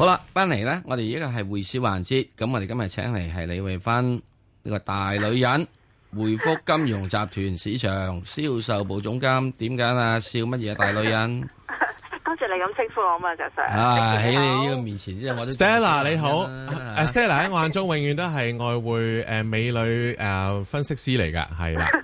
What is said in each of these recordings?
好啦，翻嚟咧，我哋依家係匯市環節，咁我哋今日請嚟係李慧芬呢個大女人，匯福金融集團市場銷售部總監。點解啊？笑乜嘢大女人？ 多謝你咁稱呼我嘛，石 Sir。 喺你呢個面前，即係我都 Stella 你好，Stella 喺我眼中永遠都係外匯美女分析師嚟㗎，係啦。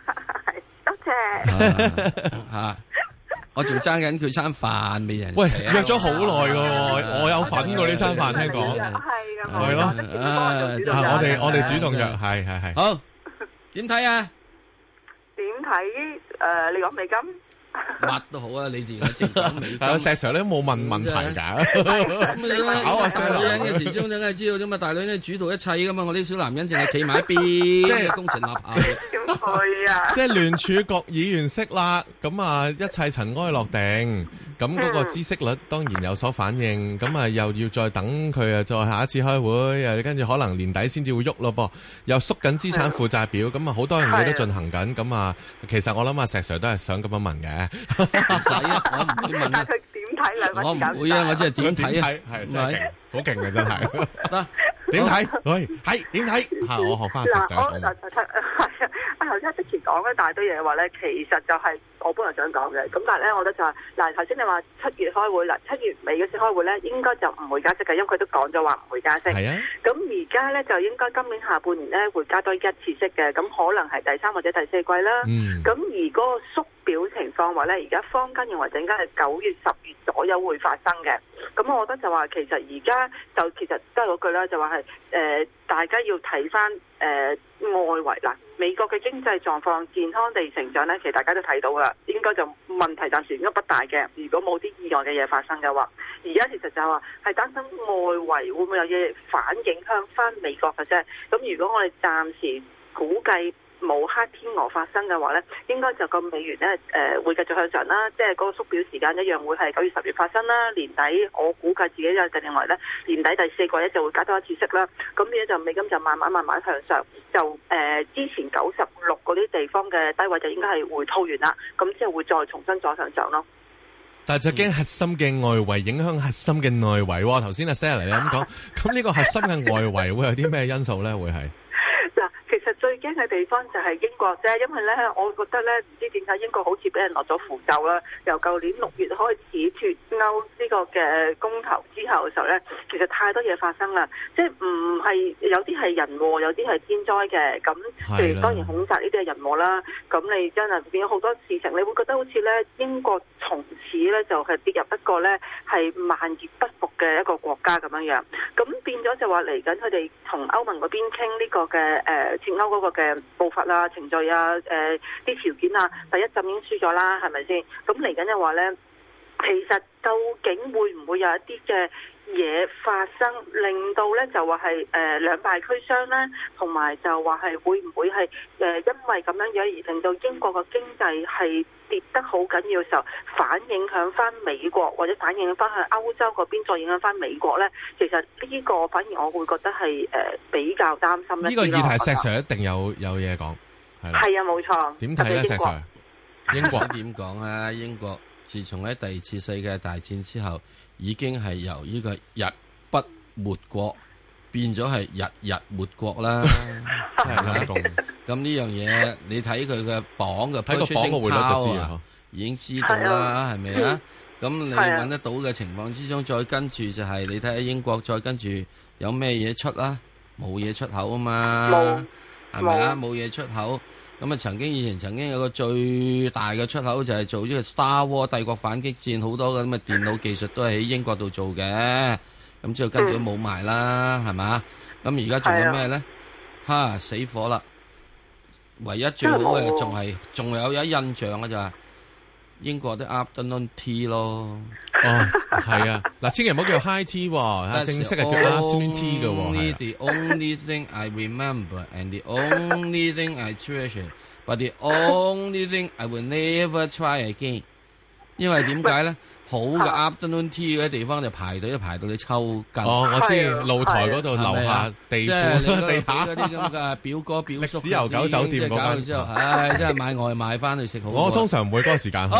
多謝。 我仲爭緊佢餐飯未人。 喂，約咗好耐㗎喎，我有份過呢餐飯，聽講。係咯。我哋主動約，係。 好，點睇啊？ 點睇？你講美金？ 乜都好啊！你自己正講美金。 石 Sir 咧冇問題㗎。 咁你大女人嘅時鐘梗係知道啫嘛，大女人主導一切噶嘛，我啲小男人淨係企埋一邊，即係攻城立下。 點會啊？ 即係聯儲局議員息啦，咁啊一切塵埃落定，咁嗰個孳息率當然有所反應，咁啊又要再等佢啊，再下一次開會，又跟住可能年底先至會喐咯噃，又縮緊資產負債表，咁啊好多樣嘢都進行緊，咁啊其實我諗阿石 Sir 都係想咁樣問嘅。 唔使啊，我唔會問啊。 佢點睇兩個？ 我唔會啊，我即係點睇啊？ 係真係好勁嘅真係。得點睇？喂，係點睇？嚇我學翻石 Sir 講。 頭先之前講一大堆嘢話咧，其實就係我本來想講嘅。咁但係咧，我覺得就係嗱，頭先你話7月開會啦，7月尾嗰時開會咧，應該就唔會加息嘅，因為佢都講咗話唔會加息。 係啊。咁而家咧就應該今年下半年咧會加多一次息嘅，咁可能係第3或者第4季啦。咁而嗰個縮表情況話咧，而家坊間認為陣間係9月、10月左右會發生嘅。咁我覺得就話其實而家就其實都係嗰句啦，就話係大家要睇翻外圍啦，美國嘅經濟狀況健康地成長咧，其實大家都睇到啦，應該就問題暫時應該不大嘅。如果冇啲意外嘅嘢發生嘅話，而家其實就係話係擔心外圍會唔會有嘢反影響翻美國嘅啫。咁如果我哋暫時估計冇黑天鵝發生嘅話咧，應該就個美元咧會繼續向上啦，即係嗰個縮表時間一樣會係9月、10月發生啦。年底我估計自己就定認為咧，年底第4季咧就會加多一次息啦。咁呢就美金就慢慢向上，就之前96嗰啲地方嘅低位就應該係回吐完啦，咁之後會再重新再向上咯。 但係就驚核心嘅外圍影響核心嘅內圍喎。頭先阿 Stella 你咁講，咁呢個核心嘅外圍會有啲咩因素咧？會係？ 其實最驚嘅地方就係英國啫，因為咧，我覺得咧，唔知點解英國好似俾人落咗符咒啦。由舊年6月開始脫歐呢個嘅公投之後嘅時候咧，其實太多嘢發生啦，即係唔係有啲係人禍，有啲係天災嘅。咁譬如當然恐襲呢啲係人禍啦。咁你真係變咗好多事情，你會覺得好似咧英國從此咧就係跌入一個咧係萬劫不復嘅一個國家咁樣樣。咁變咗就話嚟緊佢哋同歐盟嗰邊傾呢個嘅脫歐嗰個嘅步伐啊、程序啊、啲條件啊，第一陣已經輸咗啦，係咪先？咁嚟緊嘅話咧，其實究竟會唔會有一啲嘅嘢發生，令到咧就話係兩敗俱傷咧，同埋就話係會唔會係因為咁樣樣而令到英國嘅經濟係跌得好緊要嘅時候，反影響翻美國或者反映翻去歐洲嗰邊，再影響翻美國咧？其實呢個反而我會覺得係比較擔心一啲咯。 呢個議題石 Sir 一定有嘢講，係啦。 係啊，冇錯。 點睇咧，石 Sir？ 英國點講啊？英國自從喺第2次世界大戰之後，已經係由呢個日不沒國變咗係日沒國啦，係啦。咁呢樣嘢你睇佢嘅榜嘅， 睇個榜嘅匯率就知啊， 已經知道啦，係咪啊？咁你揾得到嘅情況之中，再跟住就係你睇下英國，再跟住有咩嘢出啦？冇嘢出口啊嘛，係咪啊？冇嘢出口。咁啊，以前曾經有個最大嘅出口就係做呢個 Star War 帝國反擊戰，好多嘅咁嘅電腦技術都係喺英國度做嘅。咁之後跟住都冇埋啦，係嘛？咁而家仲有咩咧？死火啦！唯一最好嘅仲有一印象嘅就係英國啲 afternoon tea 咯。 係啊，嗱，千祈唔好叫 high tea 喎，正式係叫 afternoon tea 嘅喎。 The only thing I remember and the only thing I treasure, but the only thing I will never try again。因為點解咧？好嘅 afternoon tea 嗰啲地方就排隊排到你抽筋。 我知露台嗰度樓下地庫地下嗰啲咁嘅表哥表叔歷史悠久酒店嗰間之後，真係買外賣翻去食好。 我通常唔會嗰個時間去嘅。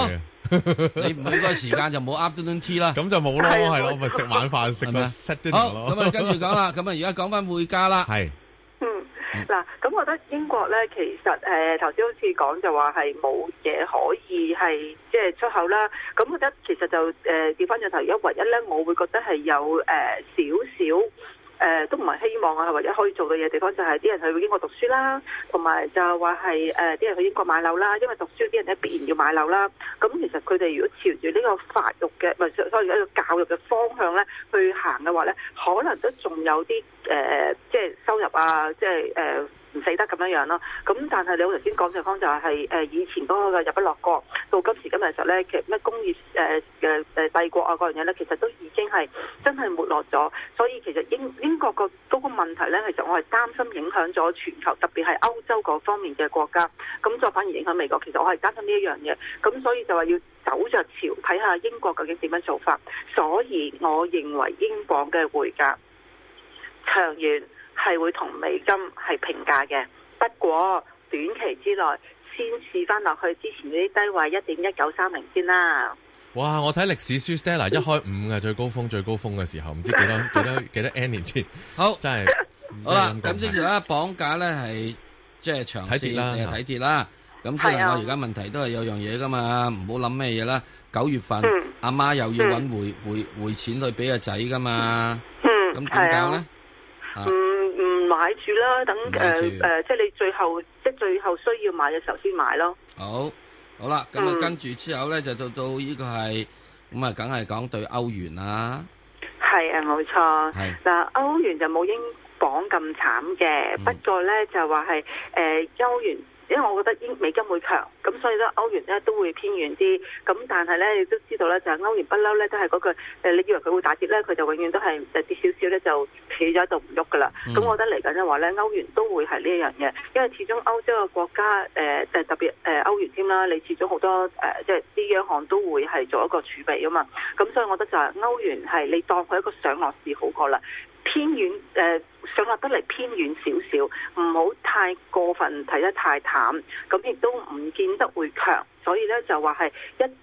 你唔去嗰個時間就冇 afternoon tea 啦。 咁就冇咯，係咯，咪食晚飯食個 set dinner 咯。 好，咁啊跟住講啦，咁啊而家講翻匯價啦。 係。 嗱，咁我覺得英國咧，其實頭先好似講就話係冇嘢可以係即係出口啦。咁我覺得其實就調翻轉頭，而家唯一咧，我會覺得係有少少。都唔係希望啊，或者可以做到嘢地方就係啲人去英國讀書啦，同埋就話係啲人去英國買樓啦，因為讀書啲人咧必然要買樓啦。咁其實佢哋如果朝住呢個發育嘅，唔係所以一個教育嘅方向咧去行嘅話咧，可能都仲有啲即係收入啊，即係唔死得咁樣樣咯。咁但係你頭先講嘅方就係以前嗰個日不落國，到今時今日嘅時候咧，其實咩工業帝國啊嗰樣嘢咧，其實都已經係真係沒落咗。所以其實英國嗰個問題咧，其實我係擔心影響咗全球，特別係歐洲嗰方面嘅國家，咁再反而影響美國。其實我係擔心呢一樣嘢，咁所以就話要走着潮，睇下英國究竟點樣做法。所以我認為英鎊嘅匯價長遠係會同美金係平價嘅，不過短期之內先試翻落去之前嗰啲低位1.1930先啦。 哇！我睇歷史書 Stella 一開5嘅最高峰嘅時候，唔知幾多 N 年前。 好， 真係好啦。咁即係咧，綁架咧係即係長線定係睇跌啦。咁即係我而家問題都係有樣嘢噶嘛，唔好諗咩嘢啦。9月份阿媽又要揾匯錢去俾個仔噶嘛。咁點搞咧？ 唔買住啦，等即係你最後需要買嘅時候先買咯。 好啦，咁啊跟住之後咧就到呢個係咁啊，梗係講對歐元啦。 係啊，冇錯。係嗱，歐元就冇英鎊咁慘嘅，不過咧就話係歐元。因為我覺得美金會強，咁所以咧歐元咧都會偏軟啲。咁但係咧，你都知道咧，就係歐元不嬲咧都係嗰句你以為佢會大跌咧，佢就永遠都係跌少少咧就企咗喺度唔喐噶啦。咁我覺得嚟緊嘅話咧，歐元都會係呢一樣嘢，因為始終歐洲嘅國家特別歐元添啦，你始終好多即係啲央行都會係做一個儲備啊嘛。咁所以我覺得就係歐元係你當佢一個上落市好過啦。偏遠上落得嚟偏遠少少，唔好太過分睇得太淡，咁亦都唔見得會強，所以咧就話係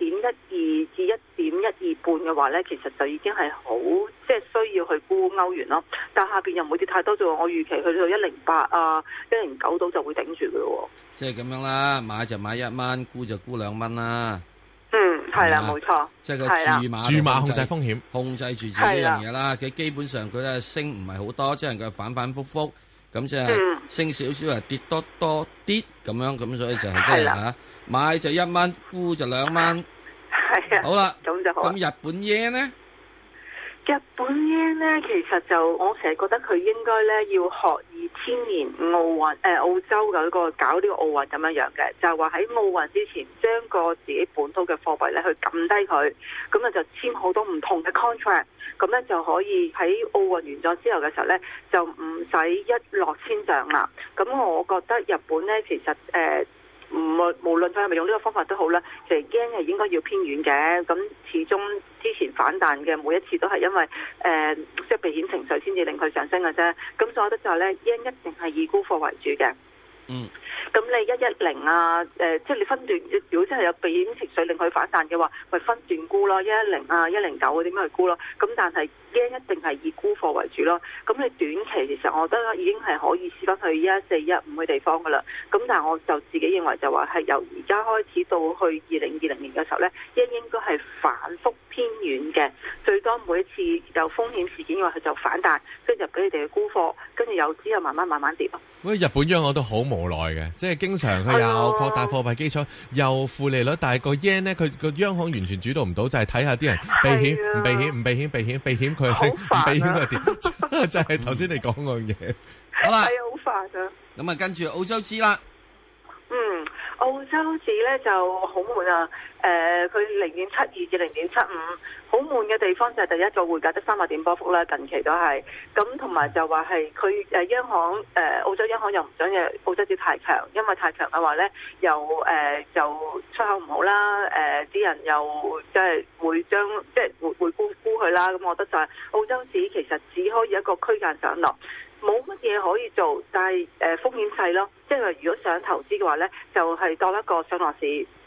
1.12至1.125嘅話咧，其實就已經係好即係需要去沽歐元咯。但下邊又唔會跌太多，就我預期去到108啊、109度就會頂住嘅咯。 即係咁樣啦，買就買1蚊，沽就沽2蚊啦。 係啦，冇錯， 即係佢注碼控制風險， 控制住自己樣嘢啦。佢基本上佢咧升唔係好多，即係佢反反覆覆，咁即係升少少啊，跌多啲咁樣，咁所以就係即係嚇買就1蚊，沽就2蚊。 係啊， 好啦， 咁就好。 咁日本yen呢？ 日本yen咧，其實就我成日覺得佢應該咧要學2000年奧運澳洲嗰個搞呢個奧運咁樣樣嘅，就係話喺奧運之前將個自己本土嘅貨幣咧去撳低佢，咁啊就簽好多唔同嘅 contract， 咁咧就可以喺奧運完咗之後嘅時候咧就唔使一落千丈啦。咁我覺得日本咧其實無論佢係咪用呢個方法都好啦，其實 yen 係應該要偏軟嘅。咁始終之前反彈嘅每一次都係因為即係避險情緒先至令佢上升嘅啫。咁所以我覺得就係咧 yen 一定係以沽貨為主嘅。咁你110啊，即係你分段，如果真係有避險情緒令佢反彈嘅話，咪分段沽咯，110啊、109嗰啲咁去沽咯。咁但係 yen 一定係以沽貨為主咯。咁你短期其實我覺得已經係可以試翻去114、115嘅地方噶啦。咁但係我就自己認為就話係由而家開始到去2020年嘅時候咧，yen應該係反覆偏軟嘅，最多每一次有風險事件嘅話，佢就反彈，跟住就俾你哋去沽貨，跟住又之後慢慢跌咯。 喂，日本央行都好無奈嘅，即係經常佢有擴大貨幣基礎，又負利率，但係個 yen 咧，佢個央行完全主導唔到，就係睇下啲人避險，唔避險，唔避險，避險，避險佢係升，唔避險佢係跌，就係頭先你講嗰樣嘢。 好啦， 係啊，好煩啊。 咁啊，跟住澳洲紙啦。 澳洲紙咧就好悶啊！佢0.72至0.75，好悶嘅地方就係第一個匯價得300點波幅啦，近期都係咁，同埋就話係佢央行澳洲央行又唔想嘅澳洲紙太強，因為太強嘅話咧又就出口唔好啦，啲人又即係會將即係會沽佢啦，咁我覺得就係澳洲紙其實只可以一個區間上落。冇乜嘢可以做，但係風險細咯。即係如果想投資嘅話咧，就係當一個上落市，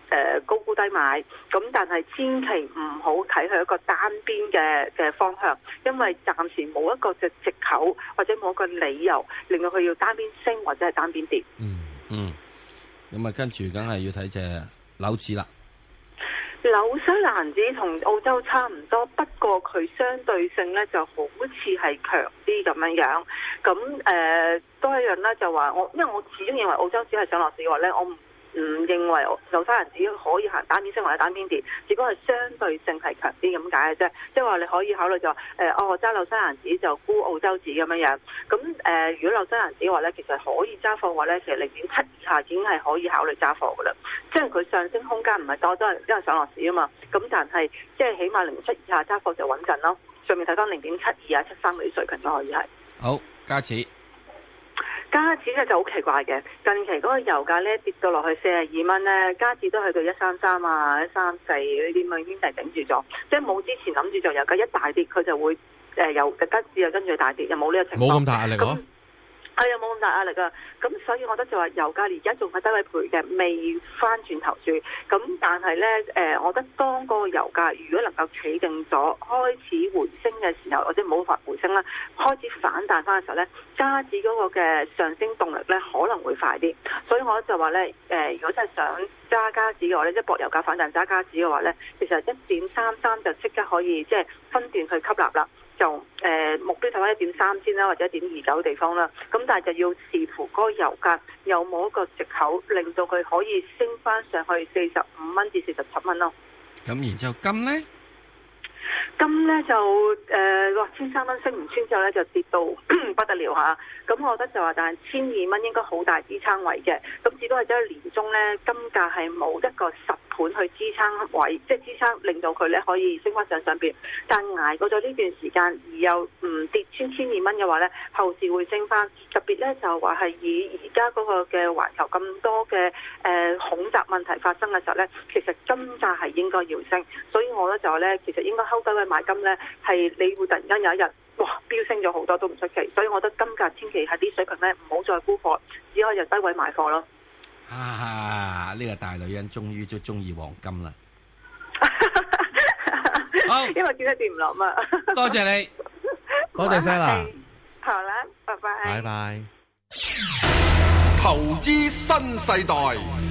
高估低買，咁但係千祈唔好睇佢一個單邊嘅方向，因為暫時冇一個藉口或者冇一個理由令到佢要單邊升或者係單邊跌。 咁啊跟住梗係要睇隻紐指啦。 紐西蘭紙同澳洲差唔多，不過佢相對性咧就好似係強啲咁樣樣。咁都一樣啦，就話因為我始終認為澳洲紙係上落市嘅話咧，我唔認為紐西蘭紙可以行單邊升或者單邊跌，只不過係相對性係強啲咁解嘅啫。即係話你可以考慮就話我揸紐西蘭紙就沽澳洲紙咁樣樣。咁如果紐西蘭紙嘅話咧，其實可以揸貨嘅話咧，其實0.7以下已經係可以考慮揸貨噶啦。即係佢上升空間唔係多，都係因為上落市啊嘛。咁但係即係起碼0.7以下揸貨就穩陣咯。上面睇翻0.72啊、73嗰啲水平都可以係。 好，加紙。 加紙咧就好奇怪嘅，近期嗰個油價咧跌到落去42蚊咧，加紙都去到133啊、134呢啲咁已經係頂住咗，即係冇之前諗住就油價一大跌，佢就會由加紙又跟住大跌，又冇呢個情況。 冇咁大壓力咯。 係啊，冇咁大壓力啊！咁所以我覺得就話油價而家仲係低位賠嘅，未翻轉頭住。咁但係咧，我覺得當個油價如果能夠企定咗，開始回升嘅時候，或者冇法回升啦，開始反彈翻嘅時候咧，加紙嗰個嘅上升動力咧可能會快啲。所以我就話咧，如果真係想揸加紙嘅話咧，即係博油價反彈揸加紙嘅話咧，其實1.33就即刻可以即係分段去吸納啦。就目標睇翻1.3先啦，或者1.29地方啦。咁但係就要視乎嗰個油價有冇一個藉口，令到佢可以升翻上去45蚊至47蚊咯。 咁然之後金咧？ 金咧就1,300蚊升唔穿之後咧就跌到不得了嚇。咁我覺得就話，但係1,200蚊應該好大支撐位嘅。咁只不過係喺年中咧，金價係冇一個實盤去支撐位，即係支撐令到佢咧可以升翻上邊。但捱過咗呢段時間而又唔跌穿1,200蚊嘅話咧，後市會升翻。特別咧就話係以而家嗰個嘅環球咁多嘅恐襲問題發生嘅時候咧，其實金價係應該要升。所以我咧就話咧，其實應該睺低位買金咧，係你會突然間有一日哇飆升咗好多都唔出奇。所以我覺得金價千祈喺啲水平咧唔好再沽貨，只可以由低位買貨咯。 呢個大女人終於都中意黃金啦。好， 因為見得掂唔落嘛。 多謝你， 多謝晒啦。 好啦，拜拜。 拜拜。 投資新世代。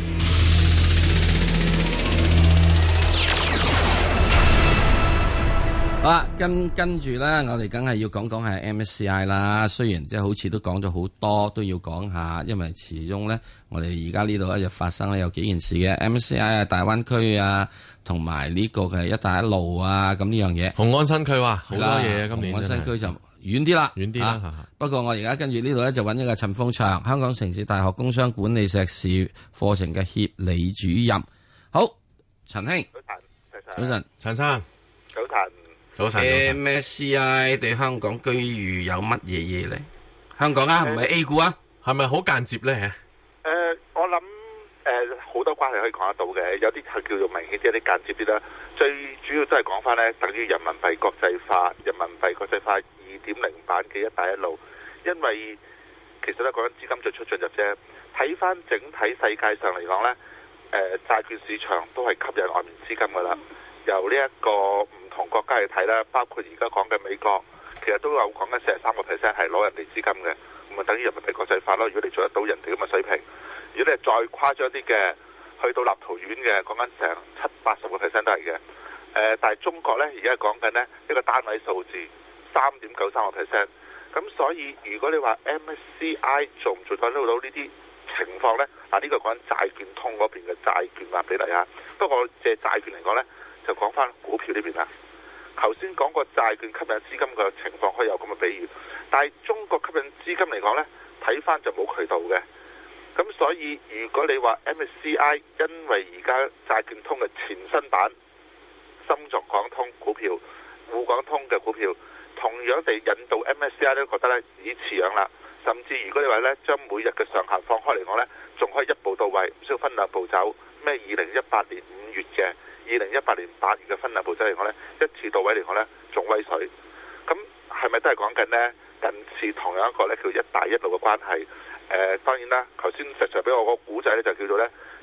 好啦，跟住咧，我哋梗係要講係 MSCI 啦。雖然即係好似都講咗好多，都要講下，因為始終咧，我哋而家呢度咧就發生咧有幾件事嘅 MSCI 啊、大灣區啊，同埋呢個嘅一帶一路啊，咁呢樣嘢。 雄安新區話好多嘢啊，今年雄安新區就遠啲啦， 遠啲啦。 不過我而家跟住呢度咧就揾一個陳鳳祥，香港城市大學工商管理碩士課程嘅協理主任。好，陳兄，早晨，陳生， 早晨。 早晨 MSCI 對香港居遇有乜嘢嘢咧？香港啊，唔係 A 股啊， 係咪好間接咧？ 我諗好多關係可以講得到嘅，有啲係叫做明顯啲，有啲間接啲啦。最主要都係講翻咧，等於人民幣國際化2.0版嘅一帶一路，因為其實咧講緊資金進出進入啫。睇翻整體世界上嚟講咧，債券市場都係吸引外面資金噶啦。由呢一個唔同國家去睇啦，包括而家講嘅美國，其實都有講緊43% 係攞人哋資金嘅，咁啊等於人民幣國際化咯。如果你做得到人哋咁嘅水平，如果你係再誇張啲嘅，去到立陶宛嘅，講緊成70-80% 都係嘅。但係中國呢，而家講緊呢一個單位數字3.93%。咁所以如果你話 MSCI 做唔做到呢啲情況呢？嗱呢個講緊債券通嗰邊嘅債券話俾你啊。不過借債券嚟講呢，就講翻股票呢邊啦。頭先講過債券吸引資金嘅情況可以有咁嘅比喻，但係中國吸引資金嚟講呢，睇翻就冇渠道嘅。咁所以如果你話 MSCI 因為而家債券通嘅前身版深港通股票、滬港通嘅股票，同樣地引導 MSCI 都覺得呢已似樣啦。甚至如果你話呢將每日嘅上限放開嚟講呢，仲可以一步到位，唔需要分兩步走。咩2018年5月嘅、2018年8月嘅分兩步走嚟講呢，一次到位嚟講呢，仲威水。咁係咪都係講緊呢近似同樣一個呢叫一帶一路嘅關係？當然啦，頭先實在俾我個古仔呢，就叫做呢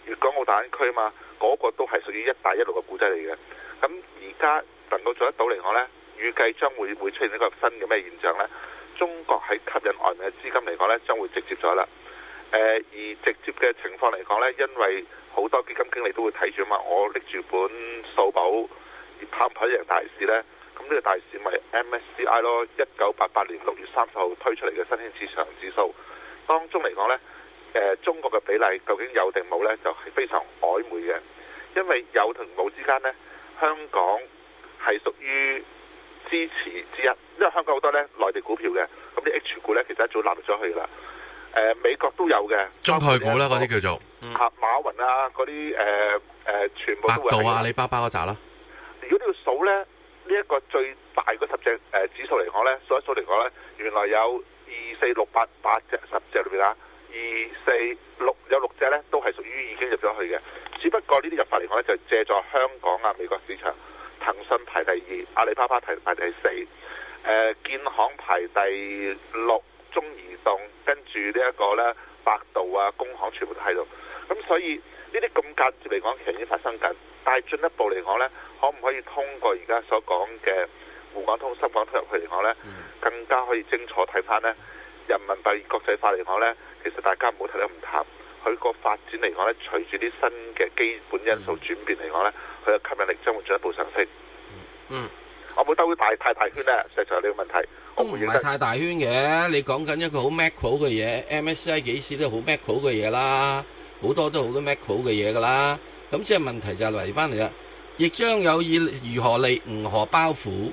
粵港澳大灣區嘛，嗰、個都係屬於一帶一路嘅故仔嚟嘅。咁而家能夠做得到嚟講呢，預計將會出現一個新嘅咩現象呢？中國喺吸引外面嘅資金嚟講呢，將會直接咗啦。而直接嘅情況嚟講呢，因為好多基金經理都會睇住嘛，我拎住本數簿，而跑唔跑贏大市呢？咁呢個大市咪 MSCI 咯，1988年6月30號推出嚟嘅新興市場指數，當中嚟講呢，中國嘅比例究竟有定冇呢？就係非常曖昧嘅，因為有同冇之間呢，香港係屬於支持之一，因為香港好多呢內地股票嘅，咁啲 H 股呢，其實一早納入咗去啦。美國都有嘅， 中概股啦，嗰啲叫做馬雲啊，嗰啲全部都會。 百度啊、阿里巴巴嗰扎啦。 如果你要數呢，呢一個最大嗰10隻指數嚟講呢，數一數嚟講呢，原來有2、4、6、8隻10隻裏邊啊，2、4、6有6隻呢都係屬於已經入咗去嘅，只不過呢啲入法嚟講呢，就借助香港啊、美國市場，騰訊排第2，阿里巴巴排第4，建行排第6。中移動跟住呢一個呢，百度啊、工行全部都喺度，咁所以呢啲咁間接嚟講，其實已經發生緊。但係進一步嚟講呢，可唔可以通過而家所講嘅滬港通、深港通入去嚟講呢，更加可以清楚睇翻呢人民幣國際化嚟講呢，其實大家唔好睇得咁淡，佢個發展嚟講呢，隨住啲新嘅基本因素轉變嚟講呢，佢嘅吸引力將會進一步上升。我冇兜太大圈呢，實在呢個問題。 都唔係太大圈嘅，你講緊一個好 macro 嘅嘢 ，MSCI 幾時都好 macro 嘅嘢啦，好多都好多 macro 嘅嘢噶啦。咁即係問題就係嚟翻嚟啦，亦將有意如何利吾荷包袱？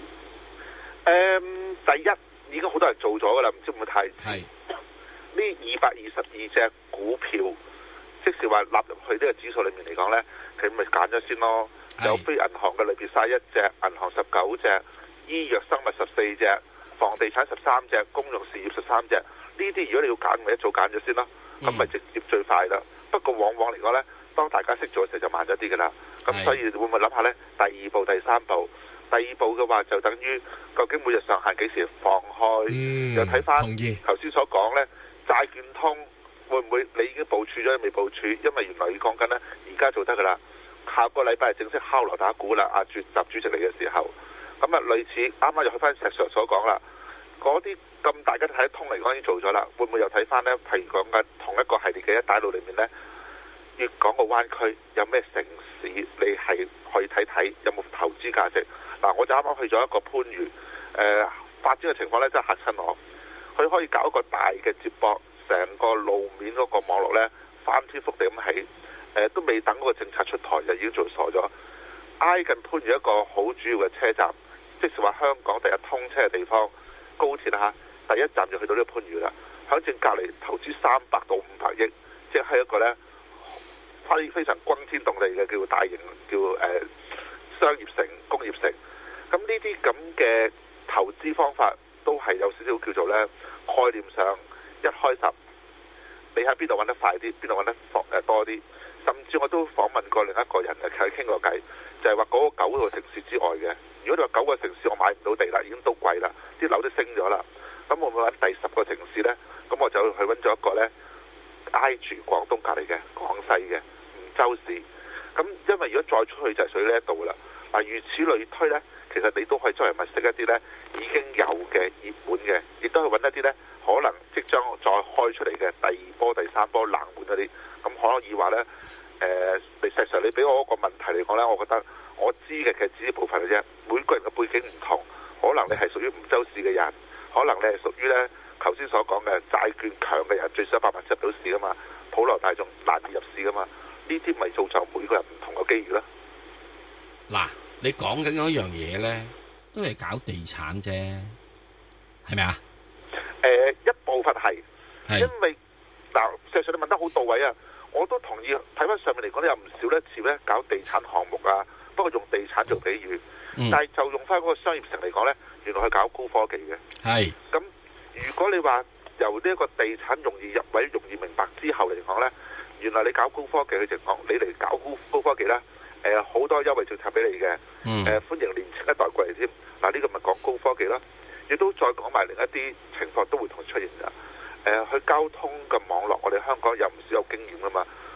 第一已經好多人做咗噶啦，唔知會唔會太係呢222隻股票，即是話納入去呢個指數裏面嚟講呢，佢咪揀咗先咯。有非銀行嘅類別晒1隻，銀行19隻，醫藥生物14隻。房地產13隻，公用事業13隻，呢啲如果你要揀，咪一早揀咗先啦，咁咪直接最快啦。不過往往嚟講呢，當大家識做嘅時候就慢咗啲㗎啦。咁所以會唔會諗下呢？第2步、第3步，第2步嘅話就等於究竟每日上限幾時放開？又睇翻頭先所講呢，債券通會唔會你已經部署咗未部署？因為原來你講緊呢，而家做得㗎啦，下個禮拜係正式敲鑼打鼓啦。習主席嚟嘅時候。咁啊，類似啱啱又去翻石 Sir 所講啦，嗰啲咁大家睇得通嚟講已經做咗啦，會唔會又睇翻呢？譬如講緊同一個系列嘅一帶一路裏面呢，粵港澳灣區有咩城市你係可以睇睇有冇投資價值？嗱，我就啱啱去咗一個番禺，發展嘅情況呢，真係嚇親我。佢可以搞一個大嘅接駁，成個路面嗰個網絡呢，翻天覆地咁起，都未等嗰個政策出台就已經做傻咗。挨近番禺一個好主要嘅車站。即是話香港第一通車嘅地方，高鐵啦嚇，第一站就去到呢個番禺啦。響正隔離投資300到500億，即係一個呢非常轟天動地嘅叫大型叫商業城、工業城。咁呢啲咁嘅投資方法都係有少少叫做呢概念上一開十，你喺邊度揾得快啲，邊度揾得多啲。甚至我都訪問過另一個人啊，佢傾過偈，就係話嗰個9個城市之外嘅。如果你話9個城市我買唔到地啦，已經都貴啦，啲樓都升咗啦，咁我會揾第10個城市呢？咁我就去揾咗一個呢，挨住廣東隔離嘅廣西嘅梧州市。咁因為如果再出去就係屬於呢一度啦。嗱，如此類推呢，其實你都可以作為物色一啲呢已經有嘅熱門嘅，亦都去揾一啲呢可能即將再開出嚟嘅第2波、第3波冷門嗰啲。咁可以話呢，實際上你俾我一個問題嚟講呢，我覺得我知嘅其實只係部分嘅啫。每個人嘅背景唔同，可能你係屬於梧州市嘅人，可能你係屬於呢頭先所講嘅債券強嘅人，最少100萬入到市噶嘛，普羅大眾難以入市噶嘛。呢啲咪造就每個人唔同嘅機遇啦。 嗱，你講緊嗰樣嘢呢，都係搞地產啫，係咪啊？ 一部分係，因為嗱，事實上你問得好到位啊！我都同意，睇翻上面嚟講，有唔少呢似咧搞地產項目啊，不過用地產做比喻，但係就用翻嗰個商業城嚟講呢，原來係搞高科技嘅。係。咁如果你話由呢一個地產容易入位、容易明白之後嚟講呢，原來你搞高科技嘅情況，你嚟搞高科技呢，好多優惠政策俾你嘅，歡迎年青一代過嚟添。嗱，呢個咪講高科技啦，亦都再講埋另一啲情況都會同出現㗎。去交通嘅網絡，我哋香港有唔少有經驗噶嘛。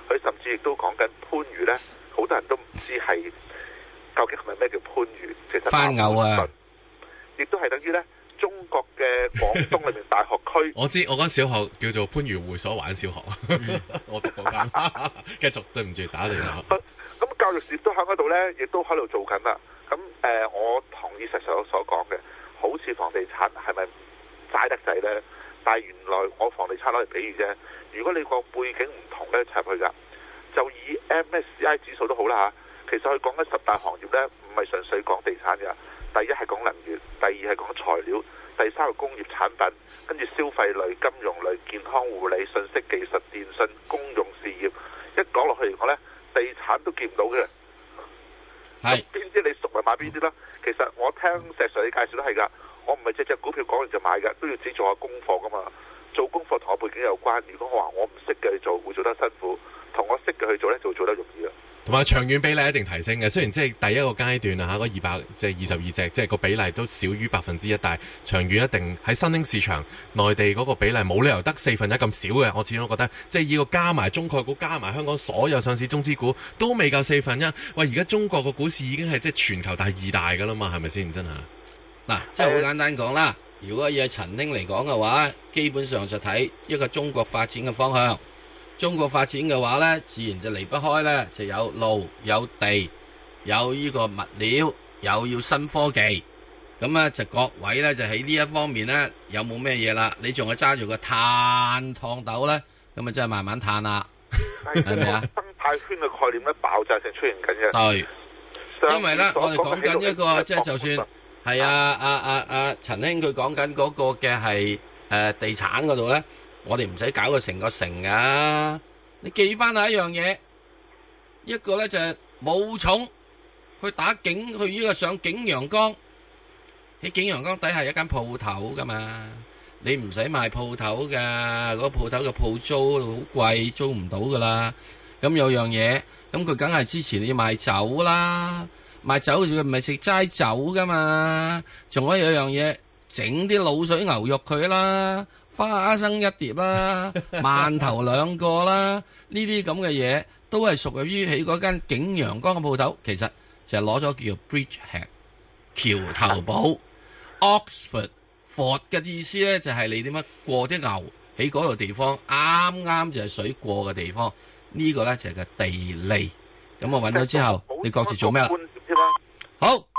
佢甚至亦都講緊番禺呢，好多人都唔知係究竟係咪咩叫番禺，其實番牛啊， 亦都係等於呢中國嘅廣東裏面大學區。 我知，我間小學叫做番禺會所玩小學，我讀嗰間。繼續，對唔住，打你啦。 咁教育事業都喺嗰度呢，亦都喺度做緊啦。咁我同意實上所講嘅，好似房地產係咪齋得滯呢？但係原來我房地產攞嚟比喻啫。如果你個背景唔同呢，插入去㗎，就以 MSCI 指數都好啦嚇。其實佢講緊10大行業呢，唔係純粹講地產㗎。第一係講能源，第二係講材料，第三係工業產品，跟住消費類、金融類、健康護理、信息技術、電信、公用事業。一講落去嚟講呢，地產都見唔到嘅。係邊啲你熟咪買邊啲啦？其實我聽石 Sir 你介紹都係㗎，我唔係隻股票講完就買㗎，都要自己做下功課㗎嘛。做功課同我背景有關。如果我話我唔識嘅去做，會做得辛苦；同我識嘅去做呢，就會做得容易啊。 同埋長遠比例一定提升嘅，雖然即係第一個階段啊，嗰200即係22隻，即係個比例都少於1%，但係長遠一定喺新興市場，內地嗰個比例冇理由得1/4咁少嘅。我始終覺得，即係以個加埋中概股加埋香港所有上市中資股都未夠1/4。喂，而家中國個股市已經係即係全球第2大㗎啦嘛，係咪先？真係嗱，即係好簡單講啦。如果以陳兄嚟講嘅話，基本上就睇一個中國發展嘅方向。中國發展嘅話呢，自然就離不開呢，就有路、有地、有呢個物料，又要新科技。咁啊，就各位呢，就喺呢一方面呢，有冇咩嘢啦？你仲係揸住個碳燙斗呢，咁啊真係慢慢嘆啦，係咪啊？ 生態圈嘅概念咧爆炸性出現緊嘅。 對，因為呢，我哋講緊一個即係就算係陳兄佢講緊嗰個嘅係地產嗰度呢。我哋唔使搞個成個城噶，你記翻下一樣嘢，一個咧就係武松去打景，去呢個上景陽岡，喺景陽岡底下有一間鋪頭噶嘛，你唔使賣鋪頭噶，嗰個鋪頭嘅鋪租好貴，租唔到噶啦。咁有樣嘢，咁佢梗係支持你賣酒啦，賣酒佢唔係食齋酒噶嘛，仲可以有樣嘢，整啲滷水牛肉佢啦。花生一碟啦，饅頭2個啦，呢啲咁嘅嘢都係屬於喺嗰間景陽岡嘅鋪頭，其實就係攞咗叫 Bridgehead 橋頭堡 Oxford Ford 嘅意思咧，就係你點樣過啲牛喺嗰度地方，啱啱就係水過嘅地方，呢個咧就係個地利。咁我揾到之後，你各自做咩啦？好。